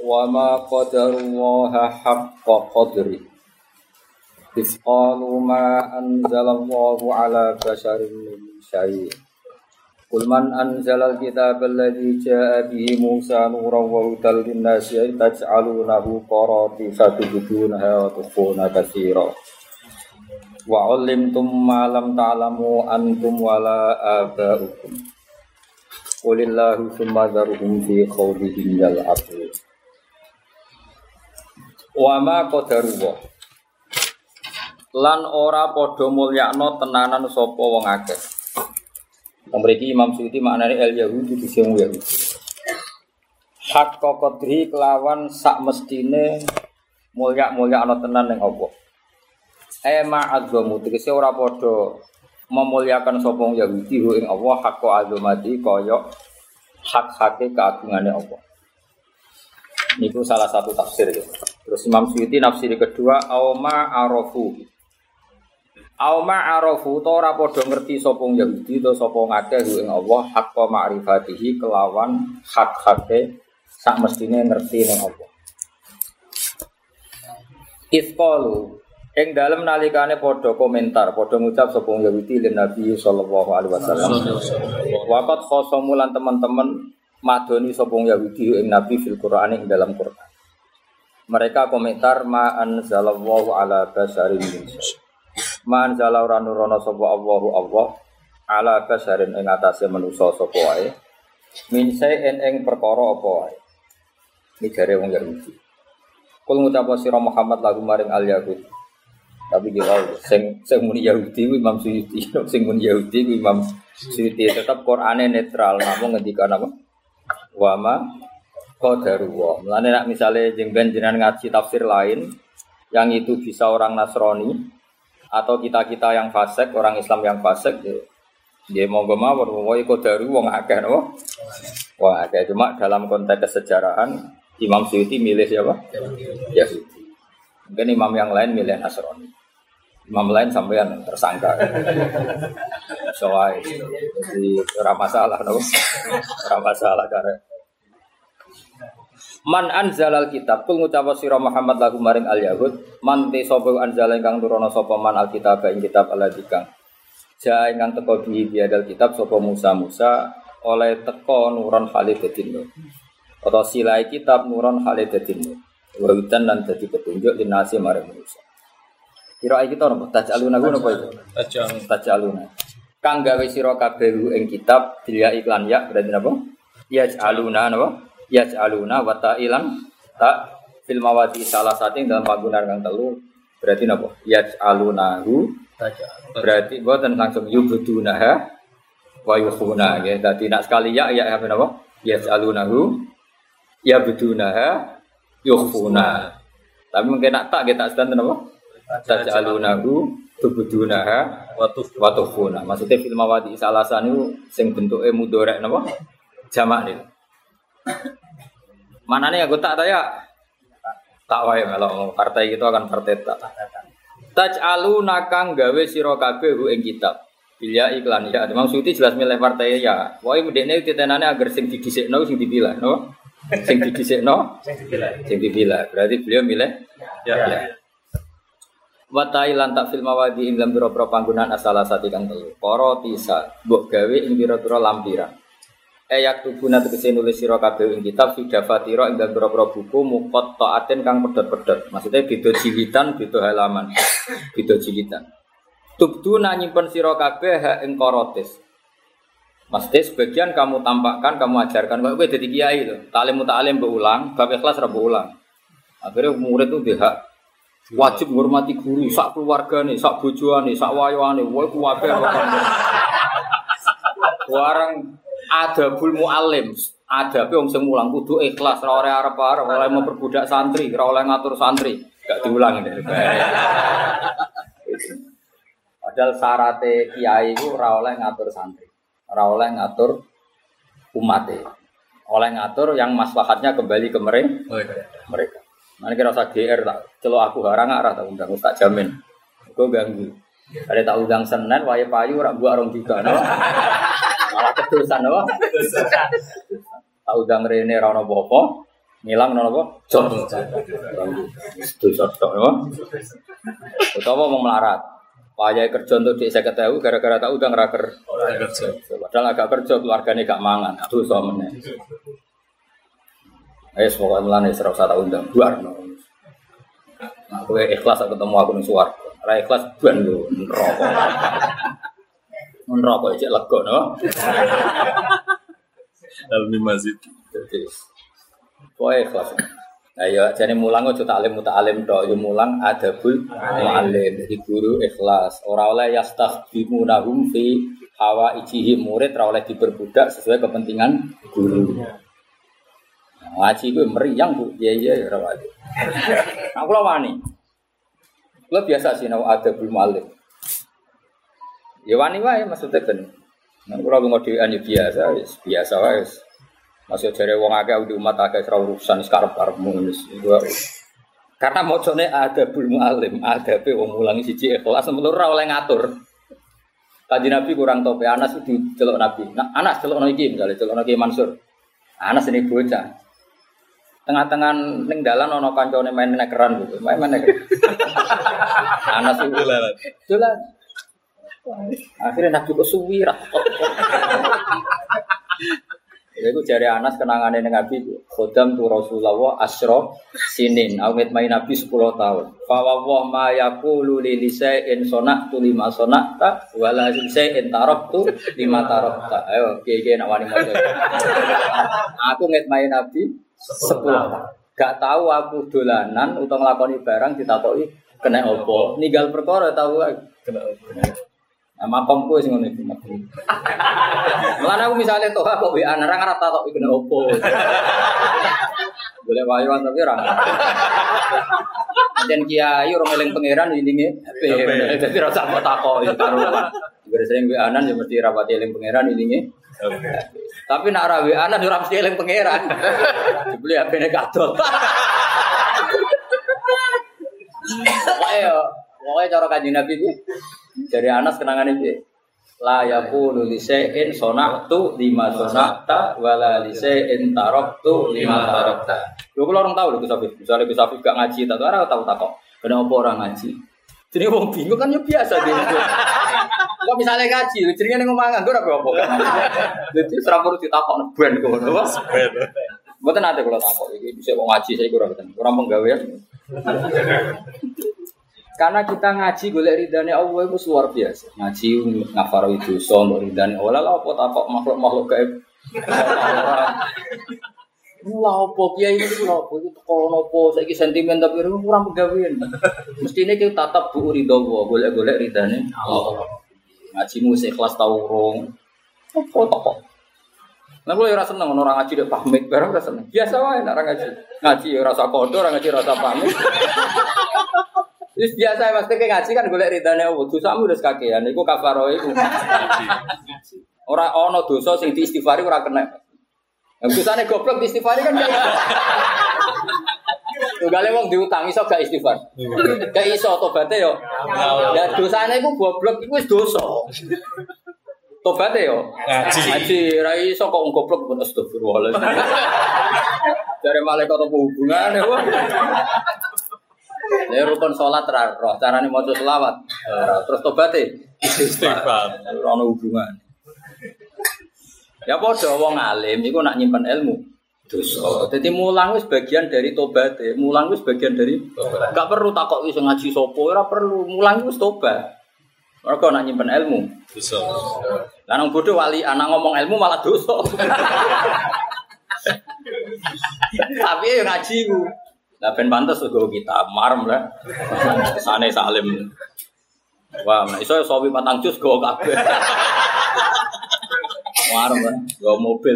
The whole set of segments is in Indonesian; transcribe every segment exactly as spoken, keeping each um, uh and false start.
wa ma qadarullaha haqqa qadri iz qalu ma anzalallahu ala basharin min syai' qul man anzalal kitaba alladzi jaa'a bihi Musa nuran wa hudan lin-nasi taj'alunahu qaratisa tubdunaha wa tukhfuna katsira wa 'allimtum ma lam ta'lamu antum wala aba'ukum qulillahu tsumma dzaruhum fi khawdihim yal'abun wa ma qadarullah lan ora padha mulyakno tenanan sapa wong akeh. Mriki Imam Suyuti maknane el Yahudi dising Yahudi. Hak qadri kelawan sak mestine mulya-mulyakno tenan ning apa. Ema azzamu tegese ora padha memulyakan sapa wong Yahudi ing Allah hak azamati kaya hak-hake keagungane Allah. Niku salah satu tafsir ya. Terus Imam Suyuti nafsir kedua auma arafu. Auma arafu to ora padha ngerti sapa Yahudi to sapa ngakeh ing Allah haqqa ma'rifatihi kelawan hak-hake sak mestine ngerti ning Allah. Isqalu ing dalem nalikane padha komentar padha ngucap sapa Yahudi lan Nabi sallallahu alaihi wasallam. Waqat khosamu lan teman-teman madoni sapa Yahudi ing Nabi fil Qur'an ing dalam Qur'an. Mereka komentar ma anzalallahu ala basarin min syai'. Ma anzala ora nurono sapa Allahu Allah ala basarin ing atase manusa sapa wae. Min syai'in ing perkara apa wae. Iki jare wong Yahudi. Kul ngucap sira Muhammad lagu maring al-Yahud. Tapi gila sing sing muni Yahudi ku Imam Suyuti, sing muni Yahudi ku Imam Suyuti tetap Qur'ane netral, namung ngendikan apa? Wa ma qadarullah. Mulane nek misale jengben jenengan ngaji tafsir lain yang itu bisa orang Nasrani atau kita-kita yang fasik, orang Islam yang fasik ya, ya monggo mawon wae qadaru wong akeh no. Wong akeh cuma dalam konteks kesejarahan Imam Suyuti milih siapa? Yahudi. Mungkin imam yang lain milih Nasrani. Imam lain sampean tersangka. Soai di ora masalah no. Ora masalah kare. Man anzalal kitab kul ngucap sira Muhammad lagu maring al Yahud man te sapa anzal ingkang nurono sapa man al kitab ing kitab aladikang ja ingkang teka bihi biadal kitab sapa Musa Musa oleh teka nuron Khalidin atau silai kitab nuron Khalidin wawitan lan dadi petunjuk dinasi maring manusa kira iki to napa tajaluna napa itu tajal tajaluna kang gawe sira kabeh ing kitab dia iklan ya berarti napa ya aluna napa yaj'aluna wa ta'ilan ta fil mawadi salah satu dalam panggunaan kang telu berarti napa yaj'alunahu berarti boten langsung yubudunaha wa yukhuna ya dadi nak sekali ya ya apa napa yaj'alunahu yabudunaha yukhuna tapi mungkin nak tak kita sedan napa yaj'alunahu tubudunaha wa tukhuna maksudnya fil mawadi salah satu sing bentuke mudhari napa jamak niku mana nih aku tak tanya tak wae kalau partai itu akan partai tak taj'aluna kang gawe sira kabeh ing kitab bilya iklan ya Imam Suyuti jelas milih partai ya wae mendekne titenane agar sing didhisikno sing dipilih no sing didhisikno sing dipilih sing dipilih berarti beliau milih ya ya wa ta'ilan tak fil mawadi ing dalam pira-pira panggunaan asala sati kang telu para tisa mbok gawe ing pira-pira lampiran ayak tubuna tegese nulis sira kabeh ing kitab fidafatira ing dalem pira-pira buku muqatta'atin kang pedhot-pedhot. Maksudnya beda jilidan, beda halaman. Beda jilidan. Tubduna nyimpen sira kabeh ing korotis. Maksudnya sebagian kamu tampakkan, kamu ajarkan kowe dadi kiai lho. Taklim muta'alim mbok ulang, bab ikhlas ra mbok ulang. Akhire murid itu hak wajib menghormati guru, sak keluargane, sak bojone, sak wayone, wae kuwabe. Warang adabul muallim, adabe wong sing mulang kudu ikhlas, ora oleh arep-arep, oleh memperbudak santri, ora oleh ngatur santri, gak diulang ini. Padahal syarate kiai iku ora oleh ngatur santri, ora oleh ngatur umate. Oleh ngatur yang maslahatnya kembali ke mereka. Mana kira usah G R tak celok aku harang arah tak undang tak jamin. Kok ganggu. Ada tak undang Senin wae payu ora mbok arung juga no. Malah kedosan no. Tak undang rene ora ono apa-apa. Ngilang nono apa? Job. Itu sodok apa? Utawa mau melarat. Payah kerja untuk di saya ketahui gara-gara tahu udah ngeraker kerja. Padahal agak kerja keluarganya gak mangan. Aduh suaminya. Eh semoga melane serap satu undang buar. Nah, aku ikhlas ketemu aku ning suwarga. Ora ikhlas ban lho neraka. Neraka cek lega no. Dalam masjid. Jadi kowe ikhlas. Nah ya jane mulang aja taklim muta'alim tok, ya mulang adabul muallim. Jadi guru ikhlas. Ora oleh yastakhdimunahum fi hawaijihim, murid ora oleh diperbudak sesuai kepentingan guru. Ngaji gue meriang bu, iya iya ya rawat. Aku lah wani, lo biasa sih nau ada belum alim. Ya wani wae maksudnya kan. Aku lah ngodian ya biasa, biasa wae. Masih cari wong agak di umat agak serau urusan sekarang karepmu ini. Karena mocone ada belum alim, ada pe wong mulangi siji ikhlas, menurut ora oleh ngatur. Kanjeng Nabi kurang tope, Anas itu celok Nabi. Nah, Anas celok iki misalnya celok Nabi Mansur. Anas ini bocah. Tengah-tengah ning dalan ana kancane main nekeran gitu. Main main nekeran. Anas itu dolan. Dolan. Akhirnya Nabi kok suwi ra. Iku jare Anas kenangane ning Nabi khodam tu Rasulullah asyra sinin. Awet main Nabi sepuluh tahun. Fa wa ma yaqulu li lisa'in sonatu lima sonata wala lisa'in taraktu lima tarakta. Ayo kiye-kiye nak wani maca. Aku ngitmai Nabi sepuluh. Gak tahu aku dolanan utawa nglakoni barang ditakoki kena apa. Ninggal perkara tahu kena apa. Nah, makomku sing ngono iki. Mulane aku misale tok kok W A nang ora takoki kena apa. Boleh wayoan tapi ora. Dan kiai ora eling pangeran ilinge H P. Dadi ora usah takoki karo. Gara sering W A-an ya mesti rapati eling pangeran ilinge. Tapi nak ra W A-an ora mesti eling pangeran. Dibeli H P-ne kadol. Ayo, pokoke cara Kanjeng Nabi iki dari Anas kenangan iki. La yaqulu li shay'in sona'tu lima sona'ta wala li shay'in taraktu lima tarakta. Lho kula orang tahu lho Gus Afif. Misale Gus Afif gak ngaji ta ora tahu takok. Kenapa orang ngaji? Jadi wong bingung kan ya biasa dia. Kok misalnya ngaji, jenenge ning omah nganggur apa apa kan. Dadi ora perlu ditakokno ben ngono. Ben. Mboten ate kula takok iki bisa kok ngaji saya kurang mboten. Kurang penggawean. Karena kita ngaji golek ridane Allah itu luar biasa. Ngaji ngafaro dosa untuk ridane Allah. Lah apa takok makhluk-makhluk gaib. Lah apa kiai iki lho apa iki teko napa saiki sentimen tapi kurang penggawean. Mestine ki tatap bu ridho Allah, golek-golek ridane Allah. Ngajimu ikhlas ta urung. Apa takok. Lah kula ora seneng ono orang ngaji dek pamit, barang ora seneng. Biasa wae nek ora ngaji. Ngaji ora rasa kodo, ora ngaji rasa pamit. Wis biasa mesti ke ngaji kan golek ridane Allah. Dosamu wis kakean iku kafaroh iku. Ora ana dosa sing diistighfari ora kena. Yang dosane goblok istighfari kan kayak. Tugale wong diutang iso gak istighfar. Gak iso tobaté yo. Ya dosane iku goblok iku wis dosa. Tobaté yo. Ngaji. Ngaji ra iso kok goblok pun astagfirullah. Jare malaikat apa hubungane wae. Lha rukun salat ra roh, carane maca selawat. Terus tobaté istighfar. Ora ono hubungan. Ya padha wong alim iku nak nyimpen ilmu dosa. Dadi mulang wis bagian dari tobat. Mulang wis bagian dari tobat. Enggak perlu takok wis ngaji sapa, ora perlu. Mulang wis tobat. Mergo nak nyimpen ilmu dosa. Lah nang bodho wali anak ngomong ilmu malah dosa. Tapi yo ngaji ku. Lah ben pantes uga kita marem lah. Sane salim. Wah, nek iso sawi patang jus go kabeh. Warung kan, gak mobil.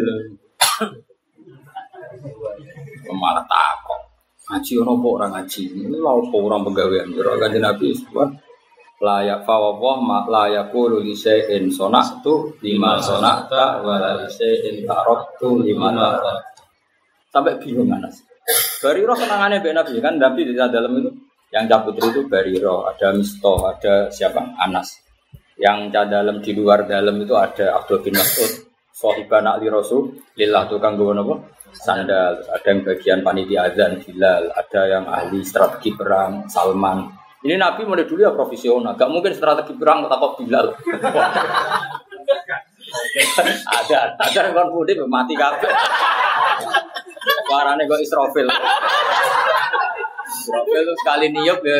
Malah takok. Ngaji ono apa ora ngaji? Ini lha apa orang pegawaian ora Kanjeng Nabi sebab layak fawwah mak layakul li shay'in sonatu lima sonata wa la shay'in taraktu lima taraktu. Sampai bingung Anas. Bariro senangane mbek Nabi kan Nabi di dalam itu yang cabut itu Bariro, ada Mistoh, ada siapa? Anas. Yang dalam di luar dalam itu ada Abdul bin Mas'ud. Sahiban Ali Rasul lillah tukang gowo napa sandal, ada yang bagian panitia azan Bilal, ada yang ahli strategi perang Salman. Ini Nabi mulai dulu ya profesional, gak mungkin strategi perang takut Bilal. ada, ada yang kon putih mati kabeh. Warane kok Israfil. Israfil itu sekali niup ya.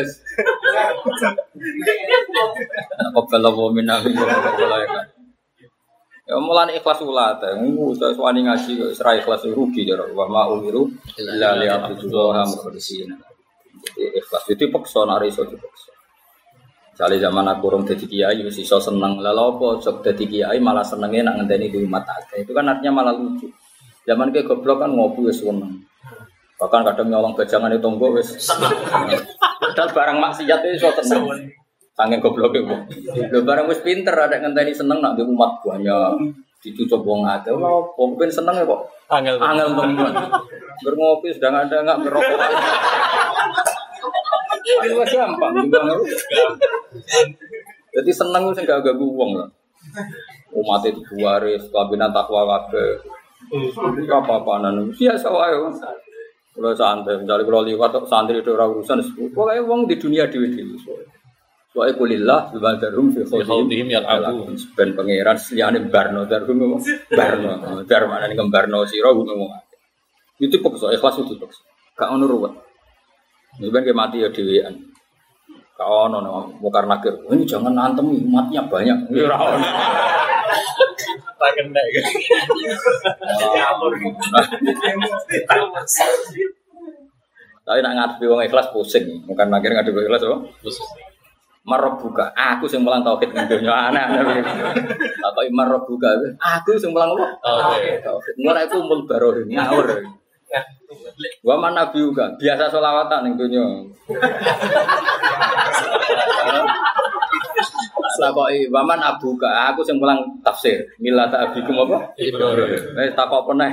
Apa kalau minah ya mulane ikhlas ulat, ngu wis wani ngaji wis ra ikhlas rugi jare wa ma umiru illa liya'budullaha mukhlishina. Jadi ikhlas itu paksa nek iso dipaksa. Jale zaman aku urung dadi kiai wis iso seneng. Lah lha apa sok dadi kiai malah senenge nak ngenteni di umat akeh. Itu kan artinya malah lucu. Zaman ke goblok kan ngopi wis seneng. Bahkan kadang nyolong bajangan itu tonggo wis seneng. Padahal barang maksiat itu iso seneng. Sangen gobloke kok. Lho barang wis pinter ada ngenteni seneng nak di umat banyak. Dicucuk wong akeh. Lha opo ben seneng ya kok. Angel angel temen. Berngopi sedang ada enggak berokok. Itu gampang juga. Jadi seneng wis enggak ganggu wong lah. Umat itu waris, kabinet takwa kabeh. Apa-apaan biasa wae. Kalau santai, misalnya kalau liwat santri itu orang urusan, pokoknya wong di dunia dewi-dewi. Soalnya kulillah, darum fi khawdihim yang aku ben pangeran seliane barno darum barno dar mana nih barno siro ngomong. Itu pokok ikhlas itu pokok. Gak ono ruwet. Ini ben mati ya dewean. Gak ono no mukar nakir. Ini jangan antem umatnya banyak. Ora ono. Tak kena kan. Tapi nak ngadepi wong ikhlas pusing. Mukar nakir ngadepi ikhlas apa? Pusing. Marbuka, aku sing mulang tauhid ning donya ana. Apa marbuka? Aku sing mulang apa? Tauhid. Ora iku mul baroh ngawur. Wa man nabi juga biasa selawatan ning donya. Sakoki wa man abuka, aku sing mulang tafsir. Millata abikum apa? Ibrahim. Wis takok peneh.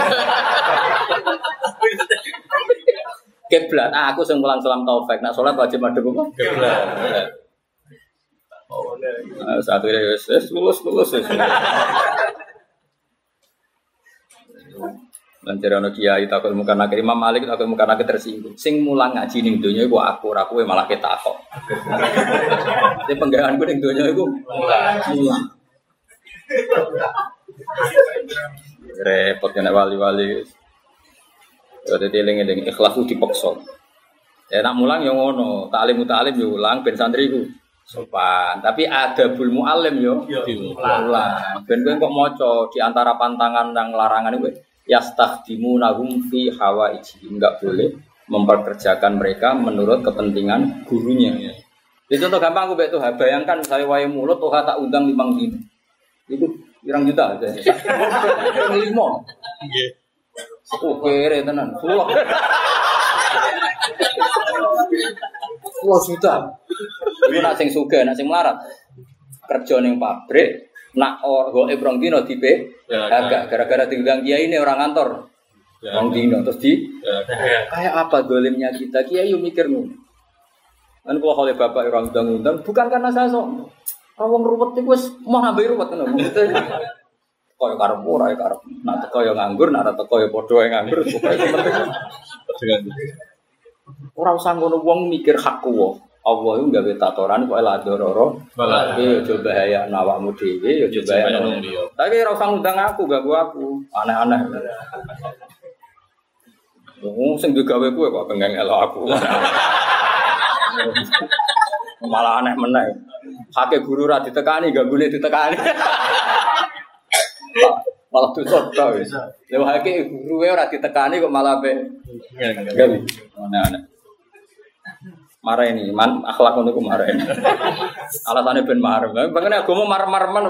Kiblat, ah, aku sing mulang salam taufik. Nak salat wajib madhep apa? Kiblat. Oh, nah, satu ini wis lulus lulus wis. Lancar ana kiai takut muka nak Imam Malik takut muka nak tersinggung. Sing mulang ngaji ning donya iku aku, ora kowe malah ketakok. Sing penggaweanku ning donya iku mulang. Repot nek wali-wali. Jadi eling-eling ikhlas itu dipaksa. Ya nak mulang yang ngono, taklim taklim yo ulang ben santri iku sopan. Tapi ada bul muallim yo ulang. Ben kowe kok maca di antara pantangan dan larangan itu yastakhdimunahum fi hawaiji. Enggak boleh memperkerjakan mereka menurut kepentingan gurunya. Jadi contoh gampang aku betul bayangkan saya wae mulut toh tak undang limang dino. Itu pirang juta aja. lima. Nggih. Oh kere tenan, sepuluh. sepuluh juta. Iku nak sing sugih, nak sing melarat. Kerja ning pabrik, nak orgo ebrong dino dipe, agak gara-gara diundang kiai ini orang kantor. Wong dino terus di kayak apa dolimnya kita? Kiai yo mikir ngono. Kan kalau oleh bapak orang undang-undang bukan karena saya sombong. Wong ruwet iku wis mau nambah ruwet tenan. Kaya karep ora ya karep. Nak teko ya nganggur, nak teko ya padha ya nganggur. Pokoke penting. Ora usah ngono wong mikir hakku wae. Allah iku gawe tatoran kok la dororo. Iki aja bahaya awakmu dhewe, ya aja bahaya wong liya. Tapi ora usah ngundang aku, ganggu aku. Aneh-aneh. Wong sing digawe kowe kok pengen elok aku. Malah aneh meneh. Hake guru ra ditekani, ganggune ditekani. Malah tuh soto wis. Lewat hake guru e ora ditekani kok malah pe. Gawe. Aneh-aneh. Marah ini, man akhlak ngono ku marah ini. Alasane ben marah. Pengen agama marah-marah.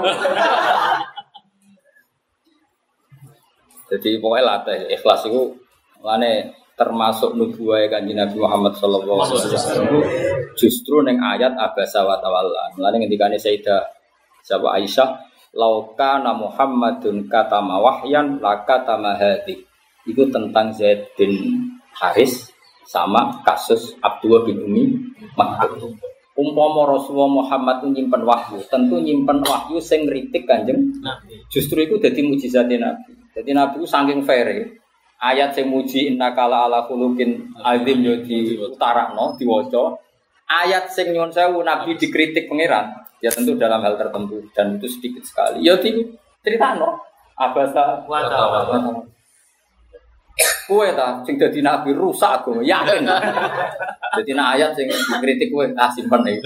Jadi pokoknya latih ikhlas itu lane termasuk nubuwah Kanjeng Nabi Muhammad sallallahu alaihi wasallam. Justru ning ayat abasa wa tawalla. Mulane ngendikane Sayyidah Sapa Aisyah, "Lauka na Muhammadun katama wahyan lakatama hadi." Itu tentang Zaid bin Haris sama kasus Abdullah bin Umi Maktum. Umpama Rasulullah Muhammad nyimpen wahyu, tentu nyimpen wahyu sing ngritik Kanjeng Nabi. Justru itu dadi mukjizate Nabi. Jadi Nabi saking fair. ayat sing muji innakala ala khuluqin azim yo diutarakno diwaca. Ayat sing nyuwun sewu Nabi dikritik pangeran, ya tentu dalam hal tertentu dan itu sedikit sekali. Ya diceritakno abasa wa ta'ala. Kowe ta sing dadi nabi rusak agama, yakin. Dadi nek ayat sing ngritik kowe ah simpen iki.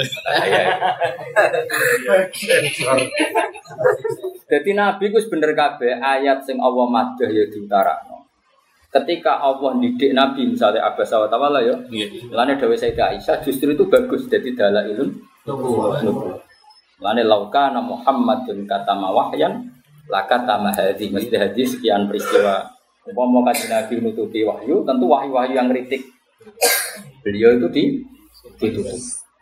Dadi nabi ku wis bener kabeh ayat sing Allah madhah ya diutarakno. Ketika Allah didik nabi misalnya abasa wa ta'ala ya. Lane dawuh Sayyidah Aisyah justru itu bagus dadi dalailun nubuwah. Lane laukana Muhammadun katama wahyan lakatama hadhi mesti hadis sekian peristiwa. Umpama kanjeng Nabi nutupi wahyu, tentu wahyu-wahyu yang kritik beliau itu di ditutup.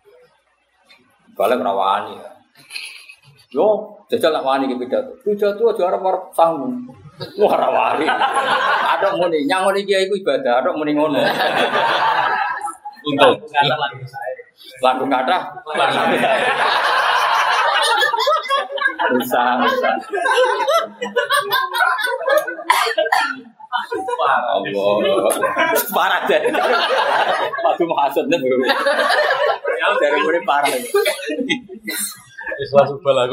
Kalau merawani, yo jajal nak wani ke pidato. Pidato aja arep-arep sangu. Wah rawani. Ada muni nyang ngene iki iku ibadah, ada muni ngono. Untuk lagu kathah. Usah. Allah. Parah deh. Padu maksudnya bro. Ya dari mulai parah. Ikhlas ubal aku.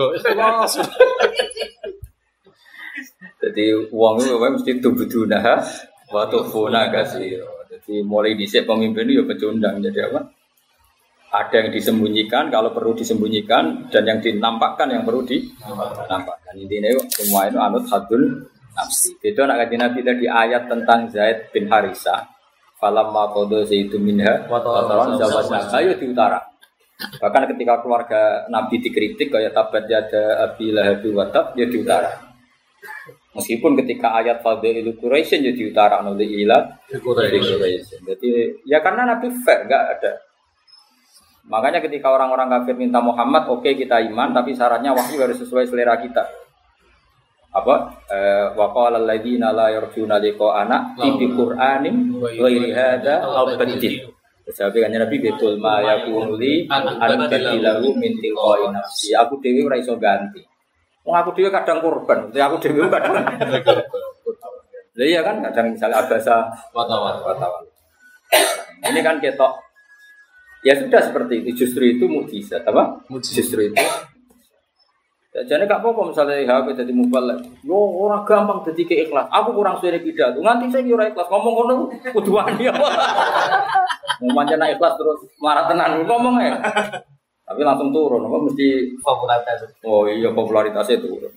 Jadi uang itu memang mesti tubuduna wa tufuna kasih. Jadi mulai dhisik pemimpin itu ya pecundang. Jadi apa? Ada yang disembunyikan kalau perlu disembunyikan dan yang dinampakkan yang perlu dinampakkan. Intinya semua itu anut hadul nafsi. Itu anak kajian Nabi tadi ayat tentang Zaid bin Harisah. Falamma qada Zaidun minha wa tawaran zawajna. Ayo di utara. Bahkan ketika keluarga Nabi dikritik kayak tabat yada Abi Lahab wa tab ya di utara. Meskipun ketika ayat fadilul Quraisy ya di utara oleh ilah Quraisy. Jadi ya karena Nabi fair enggak ada. Makanya ketika orang-orang kafir minta Muhammad, oke okay, kita iman, tapi syaratnya wahyu harus sesuai selera kita. Apa? Wa qala alladziina laa yarjuuna liqa'ana bi Qur'anin ghairi hadza aw badil. Sahabat kanjeng Nabi betul ma yakunu li an badilahu min tilqa'i nafsi. Aku dhewe ora iso ganti. Wong aku dhewe kadang korban, aku dhewe kadang. Lah iya kan kadang misalnya abasa watawal watawal. Ini kan ketok. Ya sudah seperti itu, justru itu mukjizat apa? Mujizat. Justru itu. Jadi gak apa-apa misalnya H P jadi mubalek. Yo orang gampang jadi keikhlas. Aku kurang suwe pidato. Nganti saya kira ikhlas ngomong ngono kudu wani apa. Mau manjana ikhlas terus marah tenan ngomong ya. Tapi langsung turun apa mesti popularitas. Oh iya popularitasnya turun.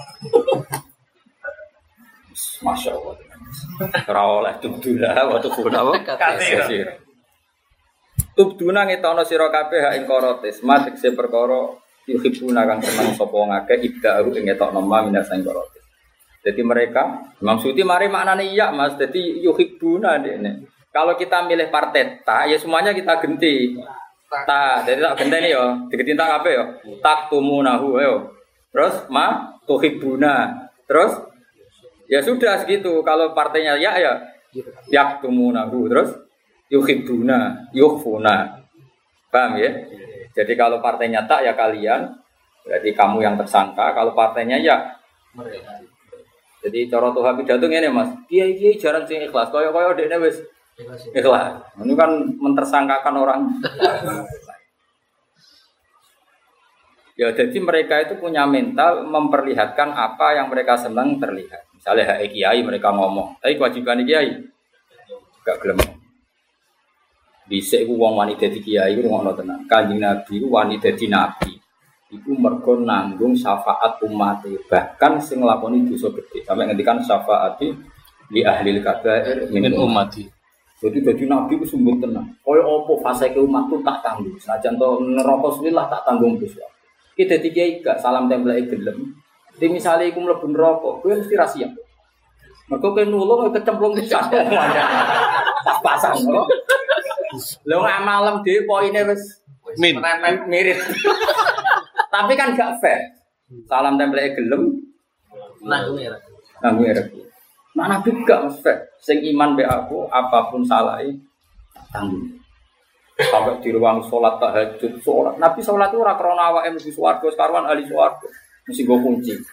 Masya Allah. Ora oleh tubdulah waktu kunawa kasih. Tubduna ngetono sira kabeh hak ing korotis, matekse perkara yuhibuna kang seneng sapa ngake ibda'u ing ngetokno ma minas ing korotis. Jadi mereka maksudnya mari maknane iya Mas, jadi yuhibuna dene. Kalau kita milih partai ta ya semuanya kita genti. Ta, jadi tak genteni yo, digenti tak kabeh yo. Tak tumunahu yo. Terus ma tuhibuna. Terus ya sudah segitu. Kalau partainya ya ya yak tumunahu terus yuhibuna, yuhfuna. Paham ya? Jadi kalau partainya tak ya kalian, berarti kamu yang tersangka. Kalau partainya ya mereka. Jadi cara Tuhan pidato ngene Mas. Kiai-kiai jarang sing ikhlas. Kaya-kaya dekne wis ikhlas. Ini kan mentersangkakan orang. Ya jadi mereka itu punya mental memperlihatkan apa yang mereka senang terlihat. Misalnya hak kiai mereka ngomong, tapi kewajiban kiai gak gelem. Bisa iku wong wani dadi kiai iku ngono tenan. Kanjeng Nabi iku wani dadi nabi. Iku mergo nanggung syafaat umat, bahkan sing nglakoni dosa gedhe. Sampai ngendikan syafaati li ahli kabair min ummati. Jadi dadi nabi iku sumber tenan. Kaya apa faseke umatku tak tanggung. Senajan to neraka sulillah tak tanggung dosa. Ki dadi kiai gak salam templeke gelem. Di misale iku mlebu neraka, kowe mesti ra siap. Mergo kowe nulung kecemplung pisan. Pas-pasan lho. Lho nggak malam dhewe poine wis min mirip. Tapi kan gak fair. Salam template gelem nanggung ya. Nanggung ya. Nah Nabi gak fair. Sing iman be aku apapun salahe tanggung. Sampai di ruang salat tahajud salat. Nabi salat ora krana awake mlebu swarga, sekaruan ahli swarga. Mesti go kunci.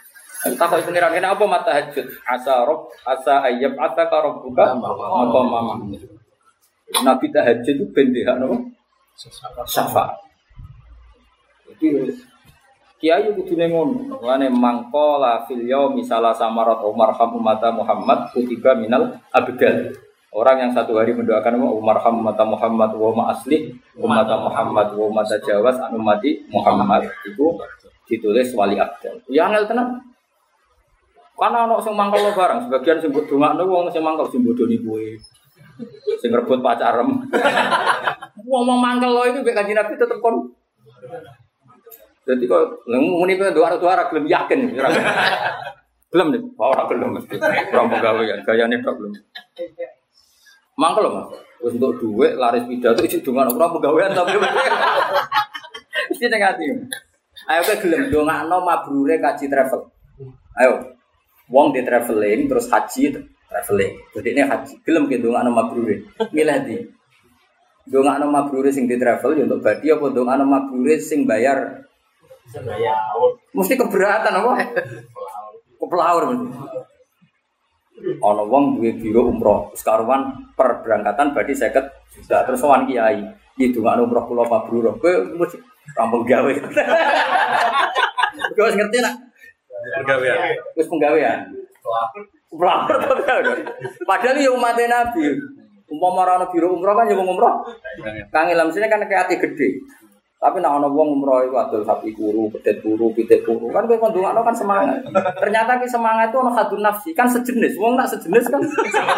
Takut pengiran kena apa mata hajut? Asa rob, asa ayab, asa karob buka, apa mama? Nabi tahajud itu bendera no? Syafa. Jadi kiai kudu nengon. Wane mangkola fil yaumi salah samarat Umar ham ummata Muhammad kutiba minal abdal. Orang yang satu hari mendoakan Umar ham ummata Muhammad wa ma asli ummata Muhammad wa ma tajawaz an ummati Muhammad itu ditulis wali abdal. Ya angel tenan. Karena ana sing mangkel barang, sebagian sing mbok dongakno wong sing mangkel sing bodoni kowe. Sing rebut pacarem. Wong mau mangkel lo itu mek Kanjeng Nabi tetep kon. Dadi kok muni pe doa-doa gelem yakin. Gelem nek ora gelem mesti. Ora pegawean, gayane tok belum. Mangkel lho, Mas. Wis entuk dhuwit laris pidato isi dongakno ora pegawean tapi. Iki ning ati. Ayo ke gelem dongakno mabrure kaji travel. Ayo. Wong di traveling terus haji traveling. Jadi ini haji gelem ke dongakno mabrure. Milih ndi? Dongakno mabrure sing di travel ya untuk badi apa dongakno mabrure sing bayar? Sing bayar. Mesti keberatan apa? Kepelaur mesti. Ana wong duwe biro umroh, sekaruan per berangkatan badi seket juta terus sowan kiai. Iki dongakno umroh kula mabrur. Kowe mesti rampung gawe. Kowe ngerti nak? Penggawean. Wis penggawean. Pelapor to padahal ya umat Nabi. Umpama ora ana biro umroh kan ya wong umroh. Kang ilmu sine kan kaya ati gede. Tapi nek ana wong umroh iku adol sapi kuru, pedet kuru, pitik kuru. Kan kowe kondongakno kan semangat. Ternyata ki semangat itu ana hadun nafsi, kan sejenis. Wong nak sejenis kan.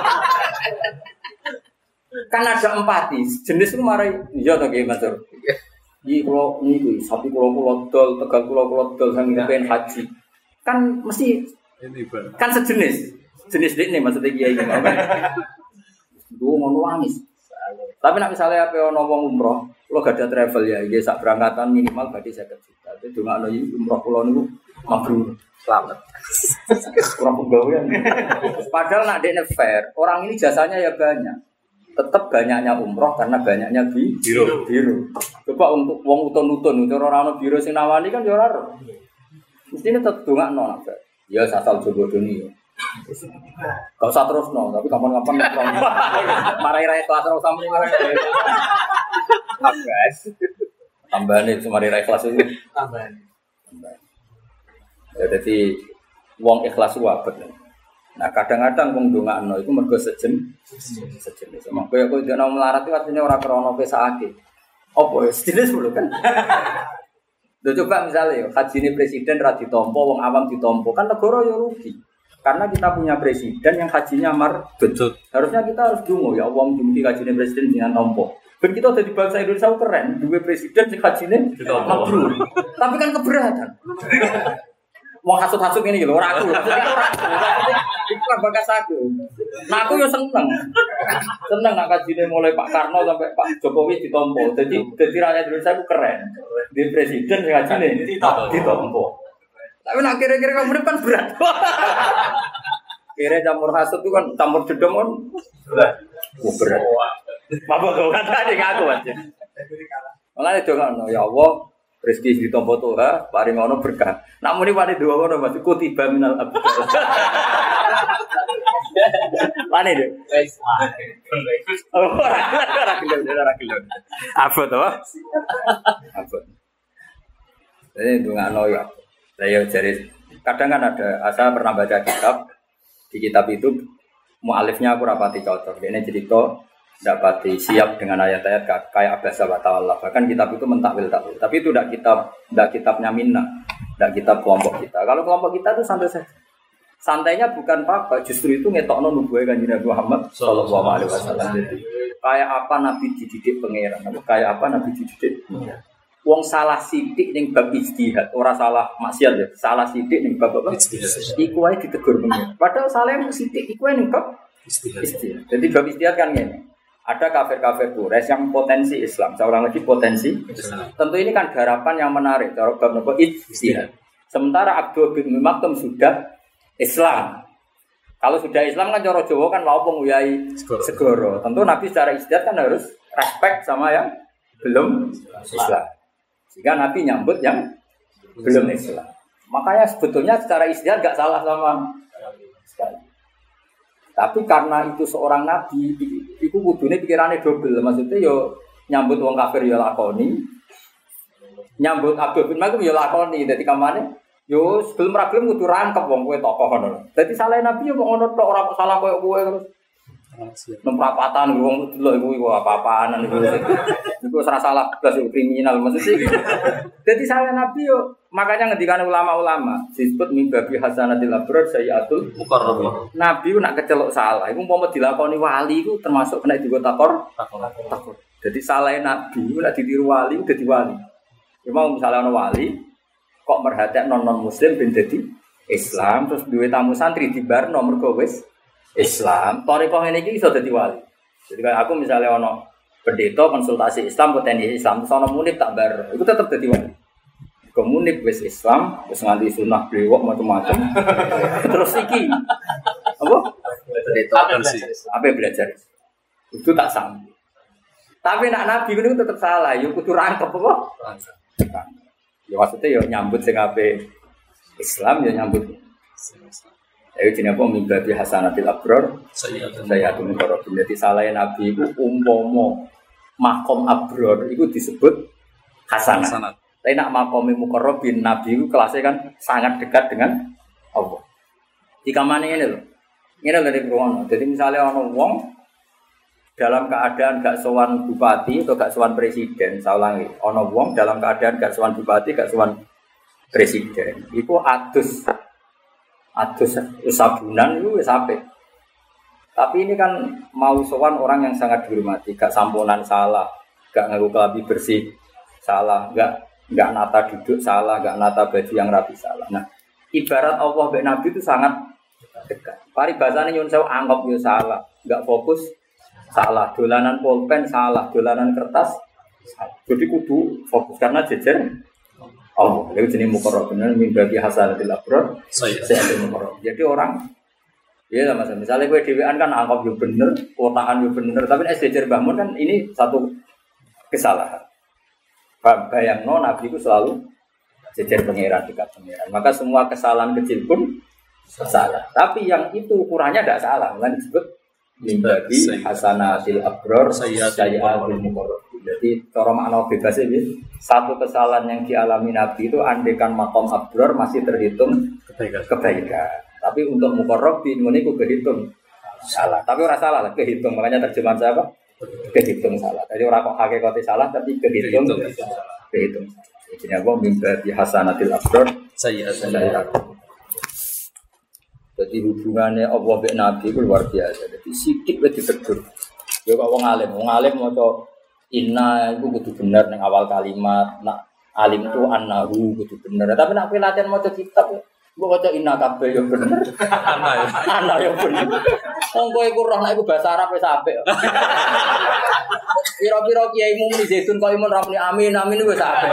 Kan ada empati. Jenis ku marai iya to nggih Matur. Iki kula niku sapi kula kula dol, tegal kula kula dol sang pengen haji. Kan mesti kan sejenis jenis ini maksudnya kiai ini kan dua ngono wangis tapi nak misalnya apa ono wong umroh lo gak ada travel ya dia sak berangkatan minimal badi seket juta itu cuma ono umroh pulau niku mabrur selamat kurang pegawaian padahal nak dekne fair orang ini jasanya ya banyak tetap banyaknya umroh karena banyaknya bi biru biru coba untuk wong utun-utun ora ono biro sing nawani kan ya ora mestinya tetap dongakno nak. Ya asal jogo doni. Enggak usah terusno, tapi kapan-kapan marai rai kelas ora sampe marai. Guys. Tambahane semari rai kelas itu. Tambahan. Ya dadi wong ikhlas wae. Nah kadang-kadang wong dongakno iku mergo sejen sejenis. Mengko ya kok dene melarat iki artine ora krana pesake. Apa ya sejenis lho kan. Loh coba misalnya haji ini presiden ra ditompo, wong awam ditompo, kan negara ya rugi. Karena kita punya presiden yang hajinya mardut. Harusnya kita harus dungo ya wong jumti haji ini presiden dengan tompo. Ben kita udah di bangsa Indonesia keren, dua presiden sing hajine mabrur. Tapi kan keberatan. Wong hasud-hasud ini lho ora aku. Iku kan bakas aku. Nah aku yo seneng. Seneng nak hajine mulai Pak Karno sampai Pak Jokowi ditompo. Jadi dadi rakyat Indonesia ku keren. Di presiden sing hajine ditompo. Tapi nak kira-kira kamu kan berat. Kira campur hasud itu kan campur jedom kan berat. Oh, berat. Apa kau kata adik aku aja. Malah itu kan, ya Allah, rezeki ditompo Tuhan, paring ono berkah. Namun ini pada dua orang masih kutiba minal abdul. Mana itu? Oh, rakyat, rakyat. Apa tuh? Apa? Ini itu nggak noy. Saya jadi kadang kan ada, saya pernah baca kitab. Di kitab itu mu'alifnya aku rapati cocok. Ini cerita tidak pati siap dengan ayat-ayat kayak abasa wa ta'ala. Bahkan kitab itu mentakwil takwil. Tapi itu tidak kitab, tidak kitabnya Minna, tidak kitab kelompok kita. Kalau kelompok kita itu santai saja. Santainya bukan apa-apa, justru itu ngetokno nubuwah Kanjeng Nabi Muhammad sallallahu alaihi wasallam. Kayak apa Nabi dididik pangeran, kayak apa Nabi dididik. Wong salah sithik ning bab ijtihad, ora salah maksiat ya, salah sithik ning bab apa? Ijtihad. Iku wae ditegur pengen. Padahal salah sithik iku wae ning bab ijtihad. Jadi bab ijtihad kan ngene. Ada kafir-kafir Quraisy yang potensi Islam, saya ulang lagi potensi Islam. Tentu ini kan garapan yang menarik cara bab napa ijtihad. Sementara Abdul bin Maktum sudah Islam. Kalau sudah Islam kan cara Jawa kan lha opo nguyai segoro. Tentu Nabi secara ijtihad kan harus respect sama yang belum Islam. Sehingga Nabi nyambut yang belum Islam. Makanya sebetulnya secara ijtihad gak salah sama sekali. Tapi karena itu seorang nabi, itu kudune pikirannya double. Maksudnya yo nyambut wong kafir yo lakoni, nyambut Abdul bin Makum yo lakoni. Dadi kamane yo sebelum ragilem kudu rangkep wong kowe tokoh ngono. Dadi salah nabi yo kok ngono tok ora kok salah koyo kowe terus. Nemprapatan wong delok iku apa-apaan iku. Iku ora salah blas kriminal maksudnya. Dadi salah nabi yo makanya ngendikane ulama-ulama disebut mimbabi hasanatil abrar sayyatul mukarramah. Nabi ku nak kecelok salah iku umpama dilakoni wali iku termasuk kena digo takor takor. Jadi salah nabi ku nak ditiru wali dadi wali. Ya mau misalnya ana wali kok merhatekno non muslim ben dadi Islam terus duwe tamu santri dibarno mergo wis Islam, thariqah ngene iki iso dadi wali. Jadi kalau aku misalnya ono pendeta konsultasi Islam potensi Islam terus ono munib tak bar, itu tetap dadi wali. Komunik wis Islam, wis nganti sunah blewok macam-macam. Terus iki apa? Pendeta apa belajar. Itu tak sanggup. Tapi nak nabi itu tetap salah, yo kudu rangkep apa? Ya maksudnya yo nyambut sing ape Islam yo nyambut. Ayo jenenge apa mimbabi hasanatil abrar sayyatul mukarrabin. Dadi salahe nabi iku umpama makom abrar iku disebut hasanah. Tapi nak makom mukarrabin nabi iku kelasnya kan sangat dekat dengan Allah. Di kamane ngene lho. Ngene lho nek ngono. Dadi misale ana wong dalam keadaan gak sowan bupati atau gak sowan presiden, saya ulangi. Ana wong dalam keadaan gak sowan bupati, gak sowan presiden. Iku adus Adus sabunan itu wis apik. Tapi ini kan mau sowan orang yang sangat dihormati, gak samponan salah, gak ngaku kelabi bersih salah, gak gak nata duduk salah, gak nata baju yang rapi salah. Nah, ibarat Allah mbek Nabi itu sangat dekat. Paribasane nyun sewu anggap yo salah, gak fokus salah, dolanan pulpen salah, dolanan kertas salah. Jadi kudu fokus karena jejer Allah, itu jenis mukarrabin min babi hasanatil abrar sayyatul mukarrabin. Jadi orang ya lah mas, misalnya gue dewean kan anggap yo bener, kotaan yo bener, tapi nek jejer bangun kan ini satu kesalahan. Bayangno Nabi itu selalu jejer pangeran dekat pangeran. Maka semua kesalahan kecil pun salah. Tapi yang itu ukurannya tidak salah, kan disebut min babi hasanatil abrar sayyatul mukarrabin. Jadi cara makna bebas ini satu kesalahan yang dialami Nabi itu andekan makom abrar masih terhitung kebaikan. kebaikan. Tapi untuk mukarrabin ini ku kehitung salah. Tapi ora salah lah kehitung. Makanya terjemahan saya apa? Kehitung salah. Jadi ora kok hakikate salah tapi kehitung kehitung. Jadi apa mimba bi hasanatil abrar sayyatul. Jadi hubungannya Allah dengan Nabi itu luar biasa. Jadi sidik wis ditegur. Ya kok wong alim, wong alim maca inna itu kudu bener ning awal kalimat, nak alim itu annahu kudu bener. Tapi nak kowe latihan maca kitab, mbok maca inna kabeh yo bener. Ana yo. Ana yo bener. Wong kowe iku roh nek iku bahasa Arab wis apik. Piro-piro kiai muni zaitun kok imun rapni amin amin wis apik.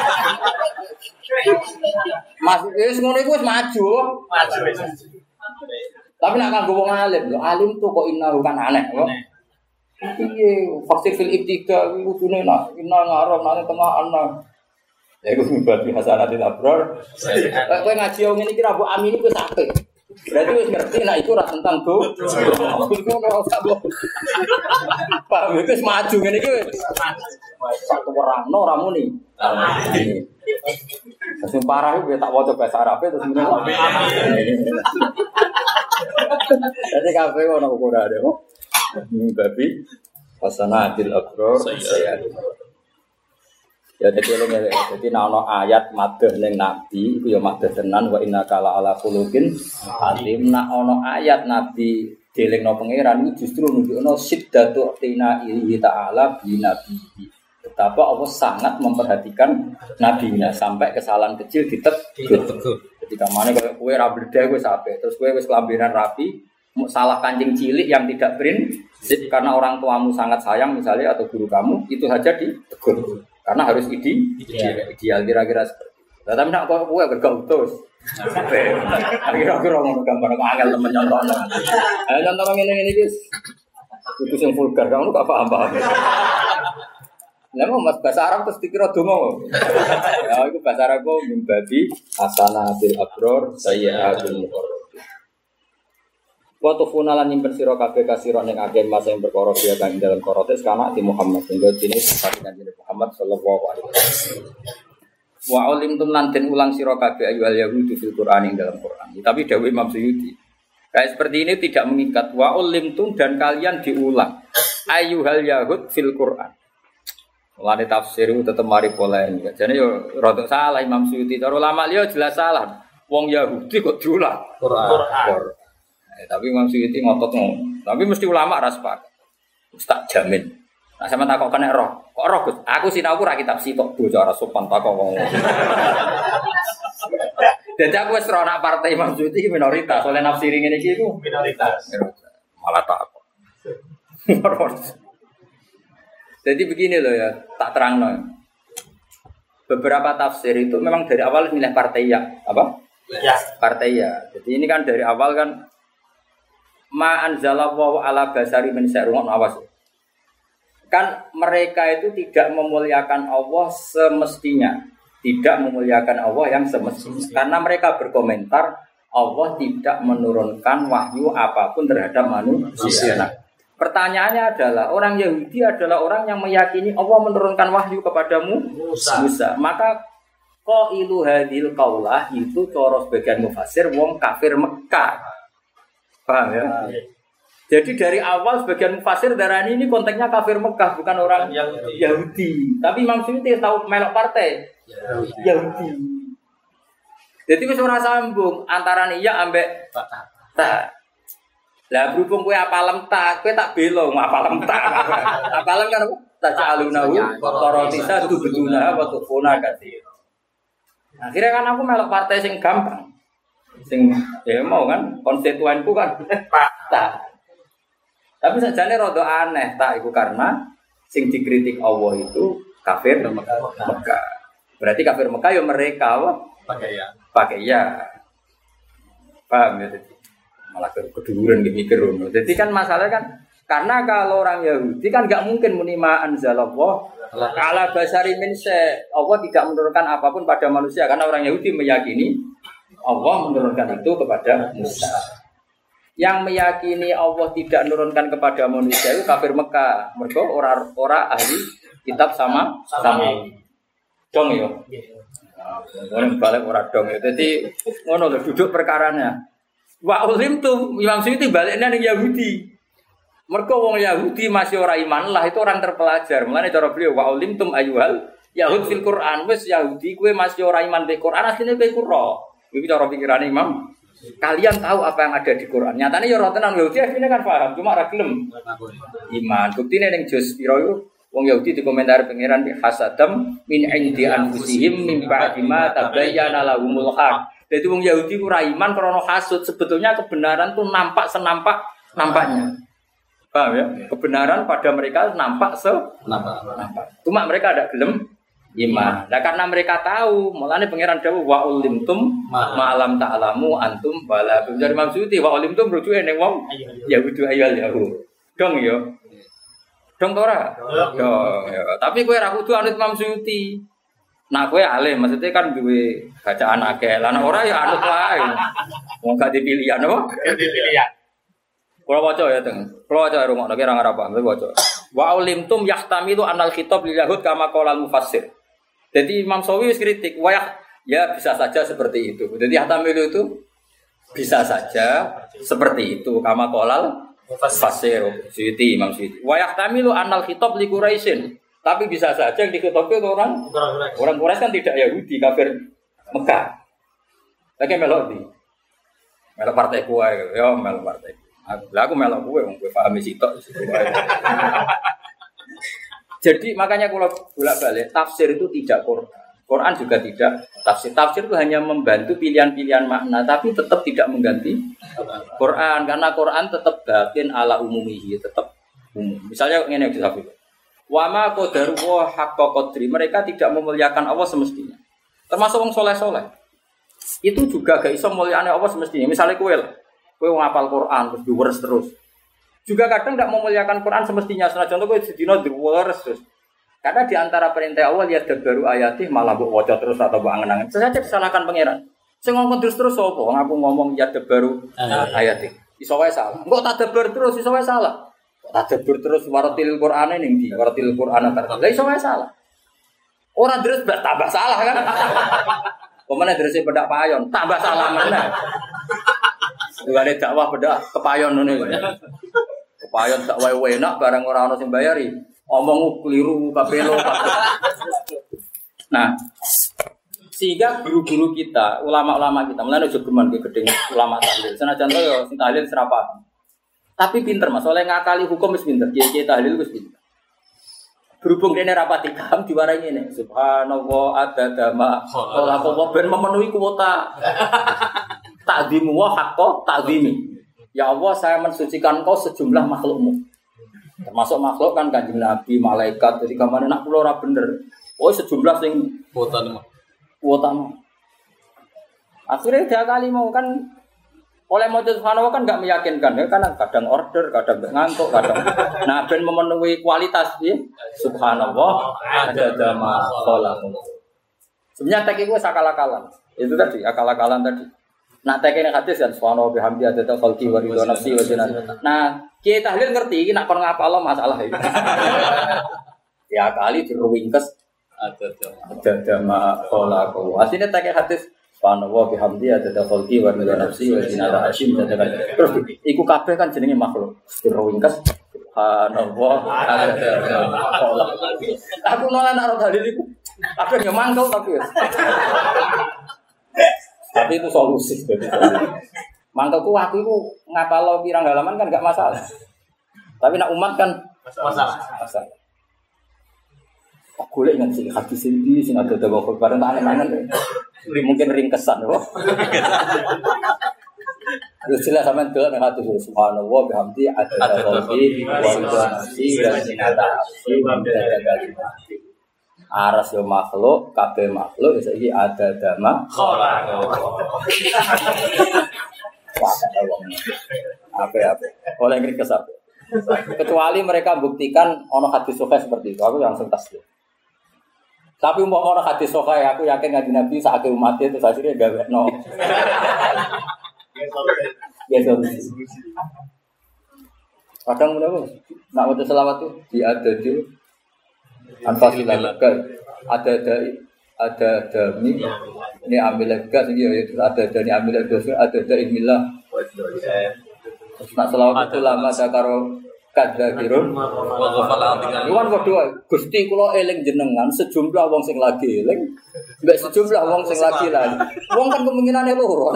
Mas wis ngono iku wis maju. Maju wis. Tapi nak kanggo wong alim, lho alim tuh kok inna kan aneh kok. Iya, fakir fil ibtiga itu kudune nak inna ngarep nang tengah ana. Ya iku mimbabi hasanatil abrar. Kowe ngaji yo ngene iki ra mbok amini wis apik. Berarti wis ngerti nek iku ora tentang do. Iku ora usah mbok. Pak wis maju ngene iki wis. Satu orang no ora muni. Sing parah iku tak waca bahasa Arab terus muni. Jadi kabeh ono ukurane kok. Mimbabi hasanatil abrar sayyatul. Ya dadi eleng eleng. Dadi nek ana ayat madhah ning nabi iku ya madhah tenan wa innaka la ala khuluqin azim. Nek ana ayat nabi dielingno pangeran iku justru nunjukno siddatu tina ilahi ta'ala bi nabi. Betapa Allah sangat memperhatikan nabinya sampai kesalahan kecil ditegur. Ketika mana kalau kowe ra bledhe kowe sampe terus kowe wis kelambinan rapi salah kancing cilik yang tidak prinsip karena orang tuamu sangat sayang misalnya atau guru kamu itu saja ditegur karena harus ide ideal, ideal kira-kira seperti itu. Tapi nak kok kowe gak utus. Kira-kira ngono gambar angel temen contohnya. Ayo contoh ngene-ngene iki. Utus yang vulgar kamu gak paham-paham. Lah mau mas bahasa Arab terus dikira donga. Ya iku bahasa Arab kok mimbabi asanatil abror sayyatul muqarrab. Wa tufunalan nyimpen sira kabeh kasira ning akeh masa yang perkara dia kang dalam korotes kana di Muhammad sehingga dene seperti kanjeng Muhammad sallallahu alaihi wasallam. Wa ulimtum lan den ulang sira kabeh ayyuhal yahudu fil Qur'an ing dalam Qur'an. Tapi dawuh Imam Suyuti kayak seperti ini tidak mengikat wa ulimtum dan kalian diulang ayyuhal yahud fil Qur'an. Mulane tafsir itu tetep mari polemik. Jane yo rada salah Imam Suyuti. Cara ulama liya jelas salah. Wong Yahudi kok diulang Quran. Quran. Eh, tapi Imam Suyuti ngotot ngono. Tapi mesti ulama ra sepakat. Ustaz jamin. Nah sampean takok kena roh. Kok roh Gus? Aku sinau ora kitab sitok bocah ora sopan takok wong. Dadi aku wis ora nak partai Imam Suyuti minoritas. Oleh nafsiri ngene iki iku minoritas. Malah takok. Jadi begini loh ya, tak terang loh. Beberapa tafsir itu memang dari awal milih partai ya, apa? Ya. Partai ya. Jadi ini kan dari awal kan ma anzalallahu ala basari min syarrun awas. Kan mereka itu tidak memuliakan Allah semestinya, tidak memuliakan Allah yang semestinya. Karena mereka berkomentar Allah tidak menurunkan wahyu apapun terhadap manusia. Nah, pertanyaannya adalah orang Yahudi adalah orang yang meyakini Allah menurunkan wahyu kepadamu Musa. Musa. Maka qailu hadhil qaulah itu cara sebagian mufassir wong kafir Mekah. Paham ya? Jadi dari awal sebagian mufassir darani ini konteksnya kafir Mekah bukan orang Yahudi. Yahudi. Tapi Imam Suyuti tahu melok partai Yahudi. Yahudi. Jadi wis ora sambung antara iya ambek ta. Lah berhubung kowe apalem tak, kowe tak belo apalem tak. Apalem kan tak calunahu qarotisa itu beduna wa tufuna katsir. Akhirnya kan aku melok partai sing gampang. Sing ya mau kan konstituenku kan tak. Tapi sajane rada aneh tak iku karena sing dikritik Allah itu kafir Mekah. Berarti kafir Mekah ya mereka apa? Pakai ya. Pakai ya. Paham ya tadi? Malah keduduran mikir. Jadi kan masalah kan karena kalau orang Yahudi kan enggak mungkin menima anzalallah ala basari min syai. Allah tidak menurunkan apapun pada manusia karena orang Yahudi meyakini Allah menurunkan itu kepada Musa. Yang meyakini Allah tidak menurunkan kepada manusia itu kafir Mekah. Mereka orang-orang ahli kitab sama sama dong yo. Ngono balik ora dong yo. Dadi ngono lho duduk perkaranya. Wa ulim tuh Imam Suyuti baliknya ning Yahudi. Mergo wong Yahudi masih ora iman lah itu orang terpelajar. Mulane cara beliau wa ulim tum ayyuhal yahud fil Quran wis Yahudi kowe masih ora iman be Quran asline kowe kuro. Iki cara pikirane Imam. Kalian tahu apa yang ada di Quran. Nyatane ya ora tenan Yahudi asline kan paham cuma ora gelem iman. Buktine ning juz pira iku wong Yahudi dikomentari pangeran bi hasadam min indi anfusihim min ba'di ma tabayyana lahumul haq. Jadi wong Yahudi ora iman krana hasud, sebetulnya kebenaran tuh nampak senampak nampaknya. Paham ya? Kebenaran pada mereka nampak se nampak. nampak. Cuma mereka ada gelem iman. Nah karena mereka tahu, mulane pangeran dawuh wa ulimtum ma'alam ta'lamu antum bala. Dari Imam Suyuti wa ulimtum rujuke ning wong Yahudi ayal Yahud. Dong ya. Dong ora? Dong ya. Tapi kowe ra kudu anut Imam Suyuti. Nah kowe alim, maksudnya kan duwe bacaan akeh. Lah nek ora ya anut wae. Wong gak dipilihan apa? Gak dipilihan. Kula waca ya, Teng. Kula waca rungokno kira ora paham, waca. Wa ulimtum yahtamilu anal khitab lil yahud kama qala al mufassir. Jadi Imam Sawi wis kritik, wah ya bisa saja seperti itu. Jadi yahtamilu itu bisa saja seperti itu kama qala al mufassir. Suyuti Imam Suyuti. Wa yahtamilu anal khitab li Quraisyin. Tapi bisa saja yang diketahui orang orang Quraisy kan tidak Yahudi, kafir Mekah. Lagi melok di melok partai kuai, ya melok partai. Lah aku melok kuai, gue pahami sitok. Jadi makanya kalau bolak-balik tafsir itu tidak Quran. Quran juga tidak tafsir. Tafsir itu hanya membantu pilihan-pilihan makna, tapi tetap tidak mengganti Quran karena Quran tetap batin ala umumihi, tetap umum. Misalnya ini yang disebut wama qadaru wa haqqa qadri, mereka tidak memuliakan Allah semestinya. Termasuk wong soleh-soleh. Itu juga gak iso mulyane Allah semestinya. Misalnya kowe lah, kowe ngapal Quran terus diweres terus. Juga kadang ndak memuliakan Quran semestinya. Senajan contoh kowe sedina diweres terus. Karena di antara perintah Allah ya baru ayatih malah mbok waca terus atau mbok angen-angen. Saja disalahkan pangeran. Sing ngomong terus-terus sapa? Aku ngomong ya baru ayatih. Iso wae salah. Engko tadabbur terus iso wae salah. Tadabbur terus waratil Qur'ane ning ndi? Waratil Qur'ana terus. Lah iso wae salah. Ora terus tambah salah kan? Pemene terus pedak payon, tambah salah meneh. Ngene dakwah pedak kepayon ngene. Kepayon sak wae enak barang ora ono sing bayari. Omong keliru kapelo. Nah, sehingga guru-guru kita, ulama-ulama kita, mulane aja geman ke gedeng ulama tahlil. Senajan to yo sing tahlil serapa. Tapi pinter Mas, oleh ngakali hukum wis pinter, kiye-kiye tahlil wis pinter. Berhubung dene rapati paham diwarai ngene. Subhanallah adada ma khala Allah ben memenuhi kuota. Ta'dzimu wa haqqo ta'dzimi. Ya Allah, saya mensucikan Engkau sejumlah makhlukmu. Termasuk makhluk kan Kanjeng Nabi, malaikat. Jadi kamane nak kula ora bener. Oh sejumlah sing kuotane. Kuotane. Akhirnya dia kali mau kan oleh maca subhanallah kan enggak meyakinkan ya, karena kadang order, kadang ngantuk, kadang nah ben memenuhi kualitas ya. Subhanallah adada ma khalaq. Sebenarnya tek iku akal-akalan. Itu tadi akal-akalan tadi. Nah tek nek hadis kan subhanallah bihamdi adada khalqi wa ridha nafsi wa jinan. Nah, kiai tahlil ngerti iki nek kon ngapalo masalah itu. Ya kali diruwingkes adada adada ma khalaq. Asline tek hadis subhanallah bihamdi adada khalqi wa ridha nafsi wa jinan hashim dan terus iku kabeh kan jenenge makhluk. Diruwingkes subhanallah adada ma khalaq. Aku nolak nek dalil iku. Kabeh yo mangkel tapi. Tapi itu solusi. Mangkelku aku itu ngapalo pirang halaman kan enggak masalah. Tapi nak umat kan masalah. Masalah. Aku golek nang sing hadis iki sing ada dawa bareng tak aneh-aneh. Mungkin ringkesan kok. Terus jelas sampean delok nang hadis subhanallah bihamdi adada qalbi wa nafsi wa zinata arsi wa midada kalimati. Aras yo makhluk, kabeh makhluk iso iki ada dama khalaq. Apa-apa. Oleh ngrik kesap. Kecuali mereka buktikan ono hadis sahih seperti itu, aku langsung tasbih. Tapi umpama ono hadis sahih, aku yakin kanjeng Nabi sak akeh umat itu akhirnya gawekno. Ya solusi. Kadang ngono, nak maca selawat itu di ada di anfasilah lega ada ada ada dami ini ambil lega sih ya itu ada ada ini ambil lega ada ada ilmiah nak selawat itu lama saya karo kadakirun iwan kedua gusti kulo eling jenengan sejumlah wong sing lagi eling mbak sejumlah wong sing lagi lagi wong kan kemungkinannya loro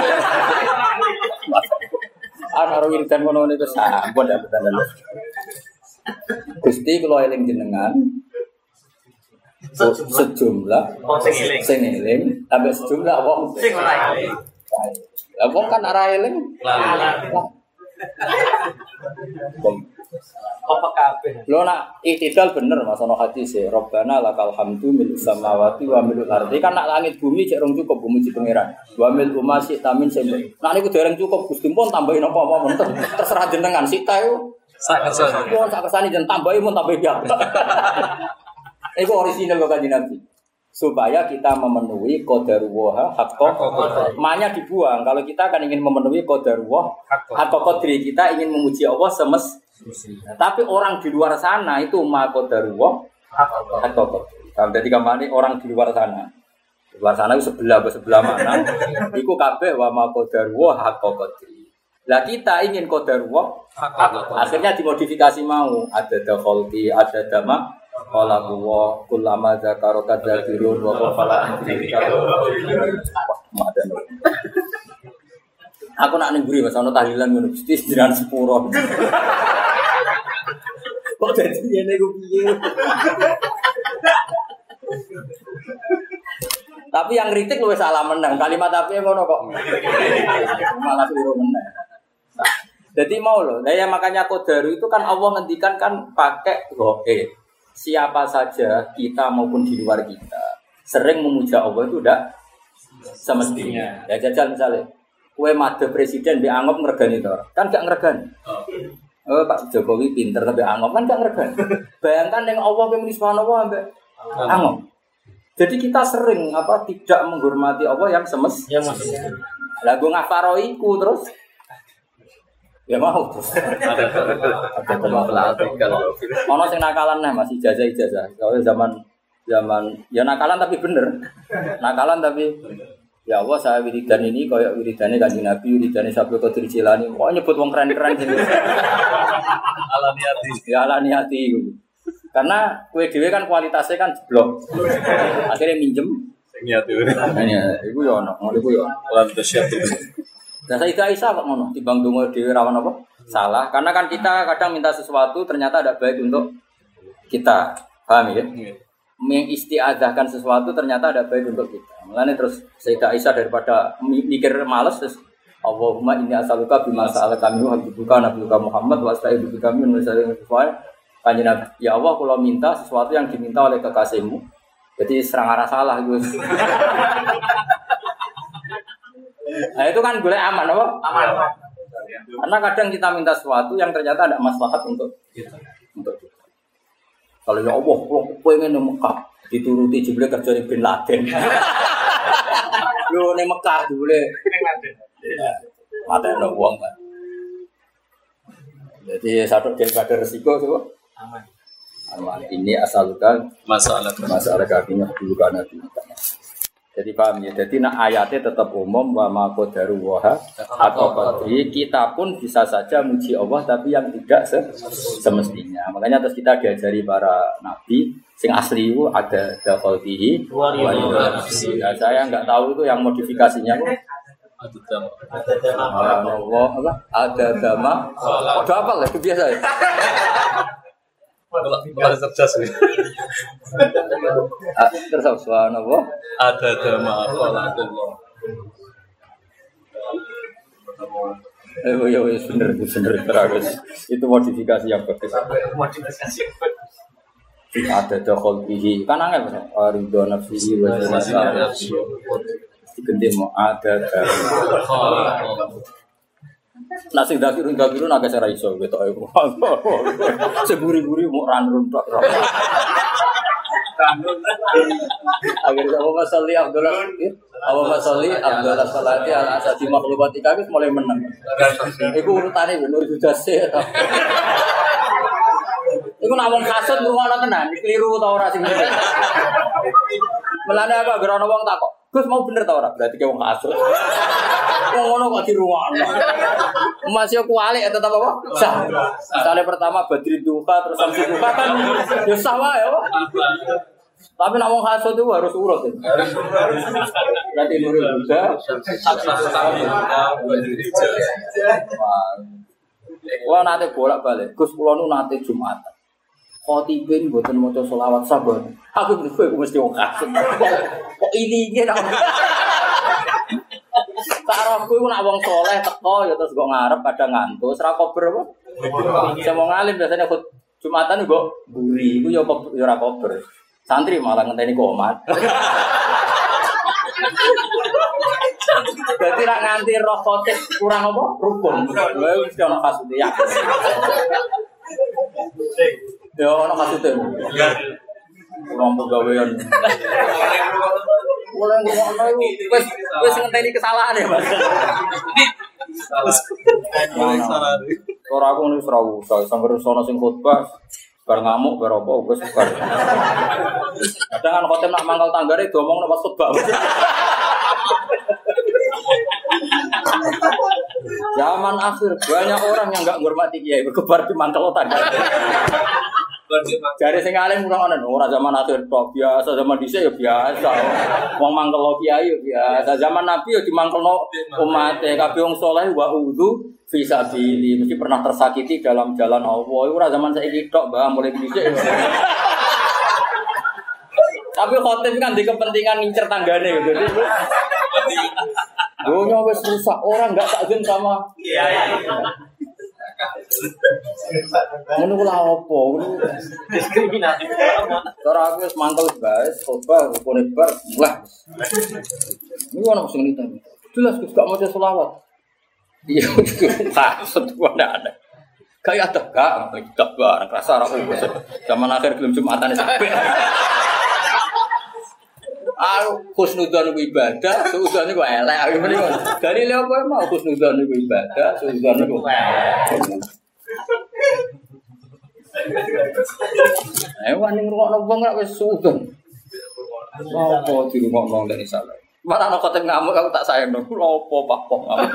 ana ro wiridan ngono niku sampun ya betul gusti kulo eling jenengan sejumlah sing eling ambek sejumlah wong sing ora eling. Lah wong kan ora eling. Apa kabeh? Lho nak itidal bener Mas ana hadis e Rabbana lakal hamdu mil samawati wa mil ardi kan nak langit bumi cek rong cukup muji pangeran. Wa mil umasi tamin sing. Nak niku dereng cukup Gusti pun tambahin apa-apa menten terserah jenengan sita yo. Sak kersane. Wong sak kersane jen tambahi mun tambah ya. Itu orisinal kok kanjeng Nabi. Supaya kita memenuhi qadarullah haqqo. Maknya dibuang kalau kita kan ingin memenuhi qadarullah haqqo qadri kita ingin memuji Allah semestinya. Tapi orang di luar sana itu ma qadarullah haqqo qadri. Jadi kamane orang di luar sana. Di luar sana itu sebelah sebelah mana? Iku kabeh wa ma qadarullah haqqo qadri. Lah kita ingin qadarullah haqqo. Akhirnya dimodifikasi mau ada dakhalti ada dama qala huwa kullama zakara kadzakirun wa qafala antika. Aku nak ning mburi Mas ana tahlilan ngono Gusti jenengan sepuro. Kok dadi ngene ku piye? Tapi yang kritik luwih salah menang. Kalimat tapi ngono kok. Malah keliru menang. Jadi mau loh. Nah ya makanya qadaru itu kan Allah ngendikan kan pakai goe. Siapa saja kita maupun di luar kita sering memuja Allah itu udah semestinya. Ya jajal misalnya, kue made presiden dianggap ngeregani itu, kan gak ngeregani. Oh, Pak Jokowi pinter tapi angop kan gak ngerti. Bayangkan yang Allah yang subhanallah ambek angop. Jadi kita sering apa tidak menghormati Allah yang semestinya. Lah gue ngafaroiku terus ya mau terus. Ada teman pelatih kalau ono sing nakalan nah masih ijazah-ijazah. Kalau zaman zaman ya nakalan tapi bener. Nakalan tapi ya Allah saya wiridan ini kayak wiridane Kanjeng Nabi, wiridane Sabtu Qadir Jilani. Kok nyebut wong keren-keren gitu. Ala niati. Ya ala niati. Karena kue dhewe kan kualitasnya kan jeblok. Akhirnya minjem sing niati. Nah, iku yo ono, ngono iku yo. Lan siap. Dan Sayyidah Aisyah kok ngono, timbang donga dhewe rawan apa? Salah. Karena kan kita kadang minta sesuatu ternyata ada baik untuk kita. Paham ya? Mengistiadzahkan sesuatu ternyata ada baik untuk kita. Makanya terus Sayyidah Aisyah daripada mikir malas terus Allahumma inni as'aluka bima sa'alaka minhu habibuka nabiyuka Muhammad wa asta'idzubika min syarri ma Kanjeng Nabi. Ya Allah kalau minta sesuatu yang diminta oleh kekasihmu. Jadi serang arah salah Gus. Nah itu kan boleh aman apa? Aman. Karena kadang kita minta sesuatu yang ternyata ada maslahat untuk kita. Untuk kita. Kalau ya Allah, kalau pengen di Mekah dituruti jebule kerjane Bin Laden. Yo ning Mekah jebule ning Laden. Matene wong kan. Jadi satu daripada resiko coba aman. Aman. Ini asalkan masalah masalah kakinya dulu karena dulu. Jadi paham ya. Jadi nak ayatnya tetap umum wa ma qadaru wa atau qadri kita pun bisa saja muji Allah tapi yang tidak semestinya. Makanya terus kita diajari para nabi sing asli itu ada daqaltihi wa nafsi. Nah, saya enggak tahu itu yang modifikasinya kok. Ada dama. Allah apa? Ada dama. Ada apa lah itu biasa ya. Malah cerdas nih. Terus subhanallah. Ada dama Allah. Eh ya wis bener bener terus. Itu modifikasi yang bagus. Modifikasi. Ada dakhal bihi. Kan angel Mas. Ridho nafsi wa nafsi. Diganti mau ada dama. Nasi dakirun dakirun agak serai iso gitu ayo. Seburi-buri mau ranrun tok. Akhirnya Abu Masali Abdullah Abu Masali Abdullah Salati ala asasi makhlukatika wis mulai menang. Iku urutane Nur Judase. Iku nak wong kasut ngrungokno tenan, keliru ta ora sing ngene. Melane apa gerono wong takok. Gus mau bener ta ora? Berarti ke wong kasut. Wong ngono kok dirungokno. Masih aku alik tetap apa? Sah. Misalnya pertama Badri Duka terus Samsi Duka kan ya sah wae ya. Tapi nak wong hasud itu harus urut. Berarti Nurul Huda wah nate bolak-balik. Gus kula nu nate Jumatan. Khotibin mboten maca selawat sabar. Aku kowe mesti wong hasud. Kok ini iki nak Sarahku itu nak wong soleh teko ya terus gue ngarep pada ngantuk, serah kober apa? Saya mau ngalim biasanya ikut Jumatan gue buri, gue ya ora kober. Santri malah ngenteni komat. Berarti nak nganti roh khotib kurang apa? Rukun. Gue mesti ono kasute ya. Ya ono kasute. Kurang pegawaian. Mulai ngono iku wis wis ngenteni kesalahan ya, Mas. Salah. Ora aku wis ora usah sampe sono sing khotbah bar ngamuk bar apa wis bar. Kadang kan khotbah nak mangkal tanggane diomongno pas khotbah. Zaman akhir banyak orang yang enggak menghormati kiai berkebar di mangkal tangga. Jare sing alim ora ono ora zaman akhir tok biasa zaman dhisik ya biasa. Wong mangkel kiai ya biasa. Zaman Nabi ya dimangkelno umate kabeh wong saleh wa udzu fi sabili mesti pernah tersakiti dalam jalan Allah. Ora zaman saiki tok, Mbah, mulai dhisik. Tapi khotib kan di kepentingan ngincer tanggane gitu. Dunia wis rusak, orang enggak takzim sama kiai. Ngono kula opo? Diskriminatif. Ora aku wis mangkel guys, khotbah rukune bar lah. Ini ono sing nita. Jelas Gus gak maca selawat. Iya, maksud gua ndak ada. Kayak ada gak gak barang rasa ora urus. Zaman akhir belum Jumatan sampai. Ah, husnudzon itu ibadah, suudzon itu elek. Dari lha apa mau husnudzon itu ibadah, suudzon itu elek. Eh wani ngrungokno wong ora wis suudzon. Apa dirungokno lek salah. Mana ana kote ngamuk aku tak sayangno. Lha apa Pak Pong ngamuk.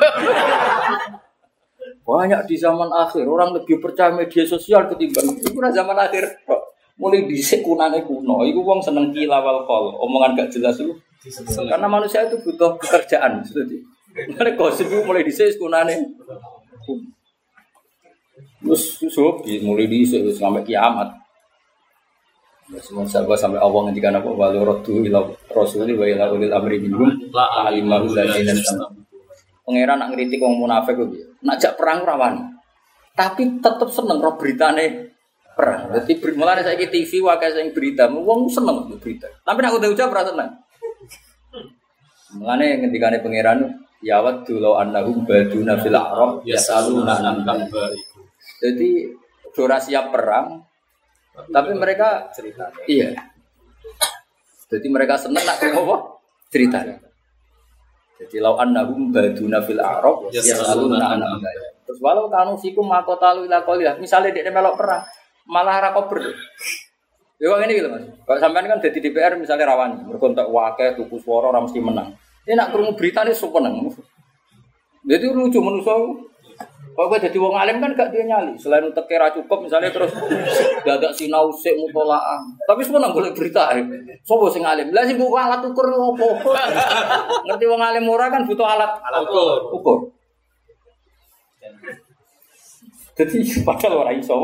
Banyak di zaman akhir orang lebih percaya media sosial ketimbang itu zaman akhir. Mulai dhisik kunane kuno, iku wong seneng kilawal kol, omongan gak jelas itu. Karena manusia itu butuh pekerjaan, seperti. Mulai gosip itu mulai dhisik kunane. Terus susuk mulai dhisik sampai kiamat. Semua sahabat sampai Allah ngendikan apa walau raddu ila rasuli wa ila ulil amri minhum la alimahu ladzina yastanbitun. Pangeran nak ngritik wong munafik kuwi. Nak jak perang ora wani. Tapi tetep seneng ro beritane perang. Jadi mulane saiki T V wae sing berita, wong seneng berita. Tapi nek udah ucap ora seneng. Mulane ngendikane pangeran ya wa dulu annahum baduna fil a'rab yasaluna an anba'ikum. Jadi ora siap perang tapi mereka cerita. Iya. Jadi mereka seneng nak apa? Cerita. Jadi lau annahum baduna fil a'rab yasaluna an anba'ikum. Terus walau kanu fikum maqatalu ila qalil. Misale dekne melok perang malah ra kober. Ya kok ngene iki lho Mas. Kok sampean kan dadi D P R misalnya rawan, mergo entek wakil tuku swara ora mesti menang. Ini nak krungu beritane sok meneng. Jadi lucu manusa. Kok kowe dadi wong alim kan gak dia nyali. Selain teke ra cukup misalnya terus dadak sinau sik mutolaah. Tapi seneng golek berita. Sopo sing alim? Lah sing buku alat ukur opo? Ngerti wong alim ora kan butuh alat alat ukur. Ukur. Jadi padahal ora iso.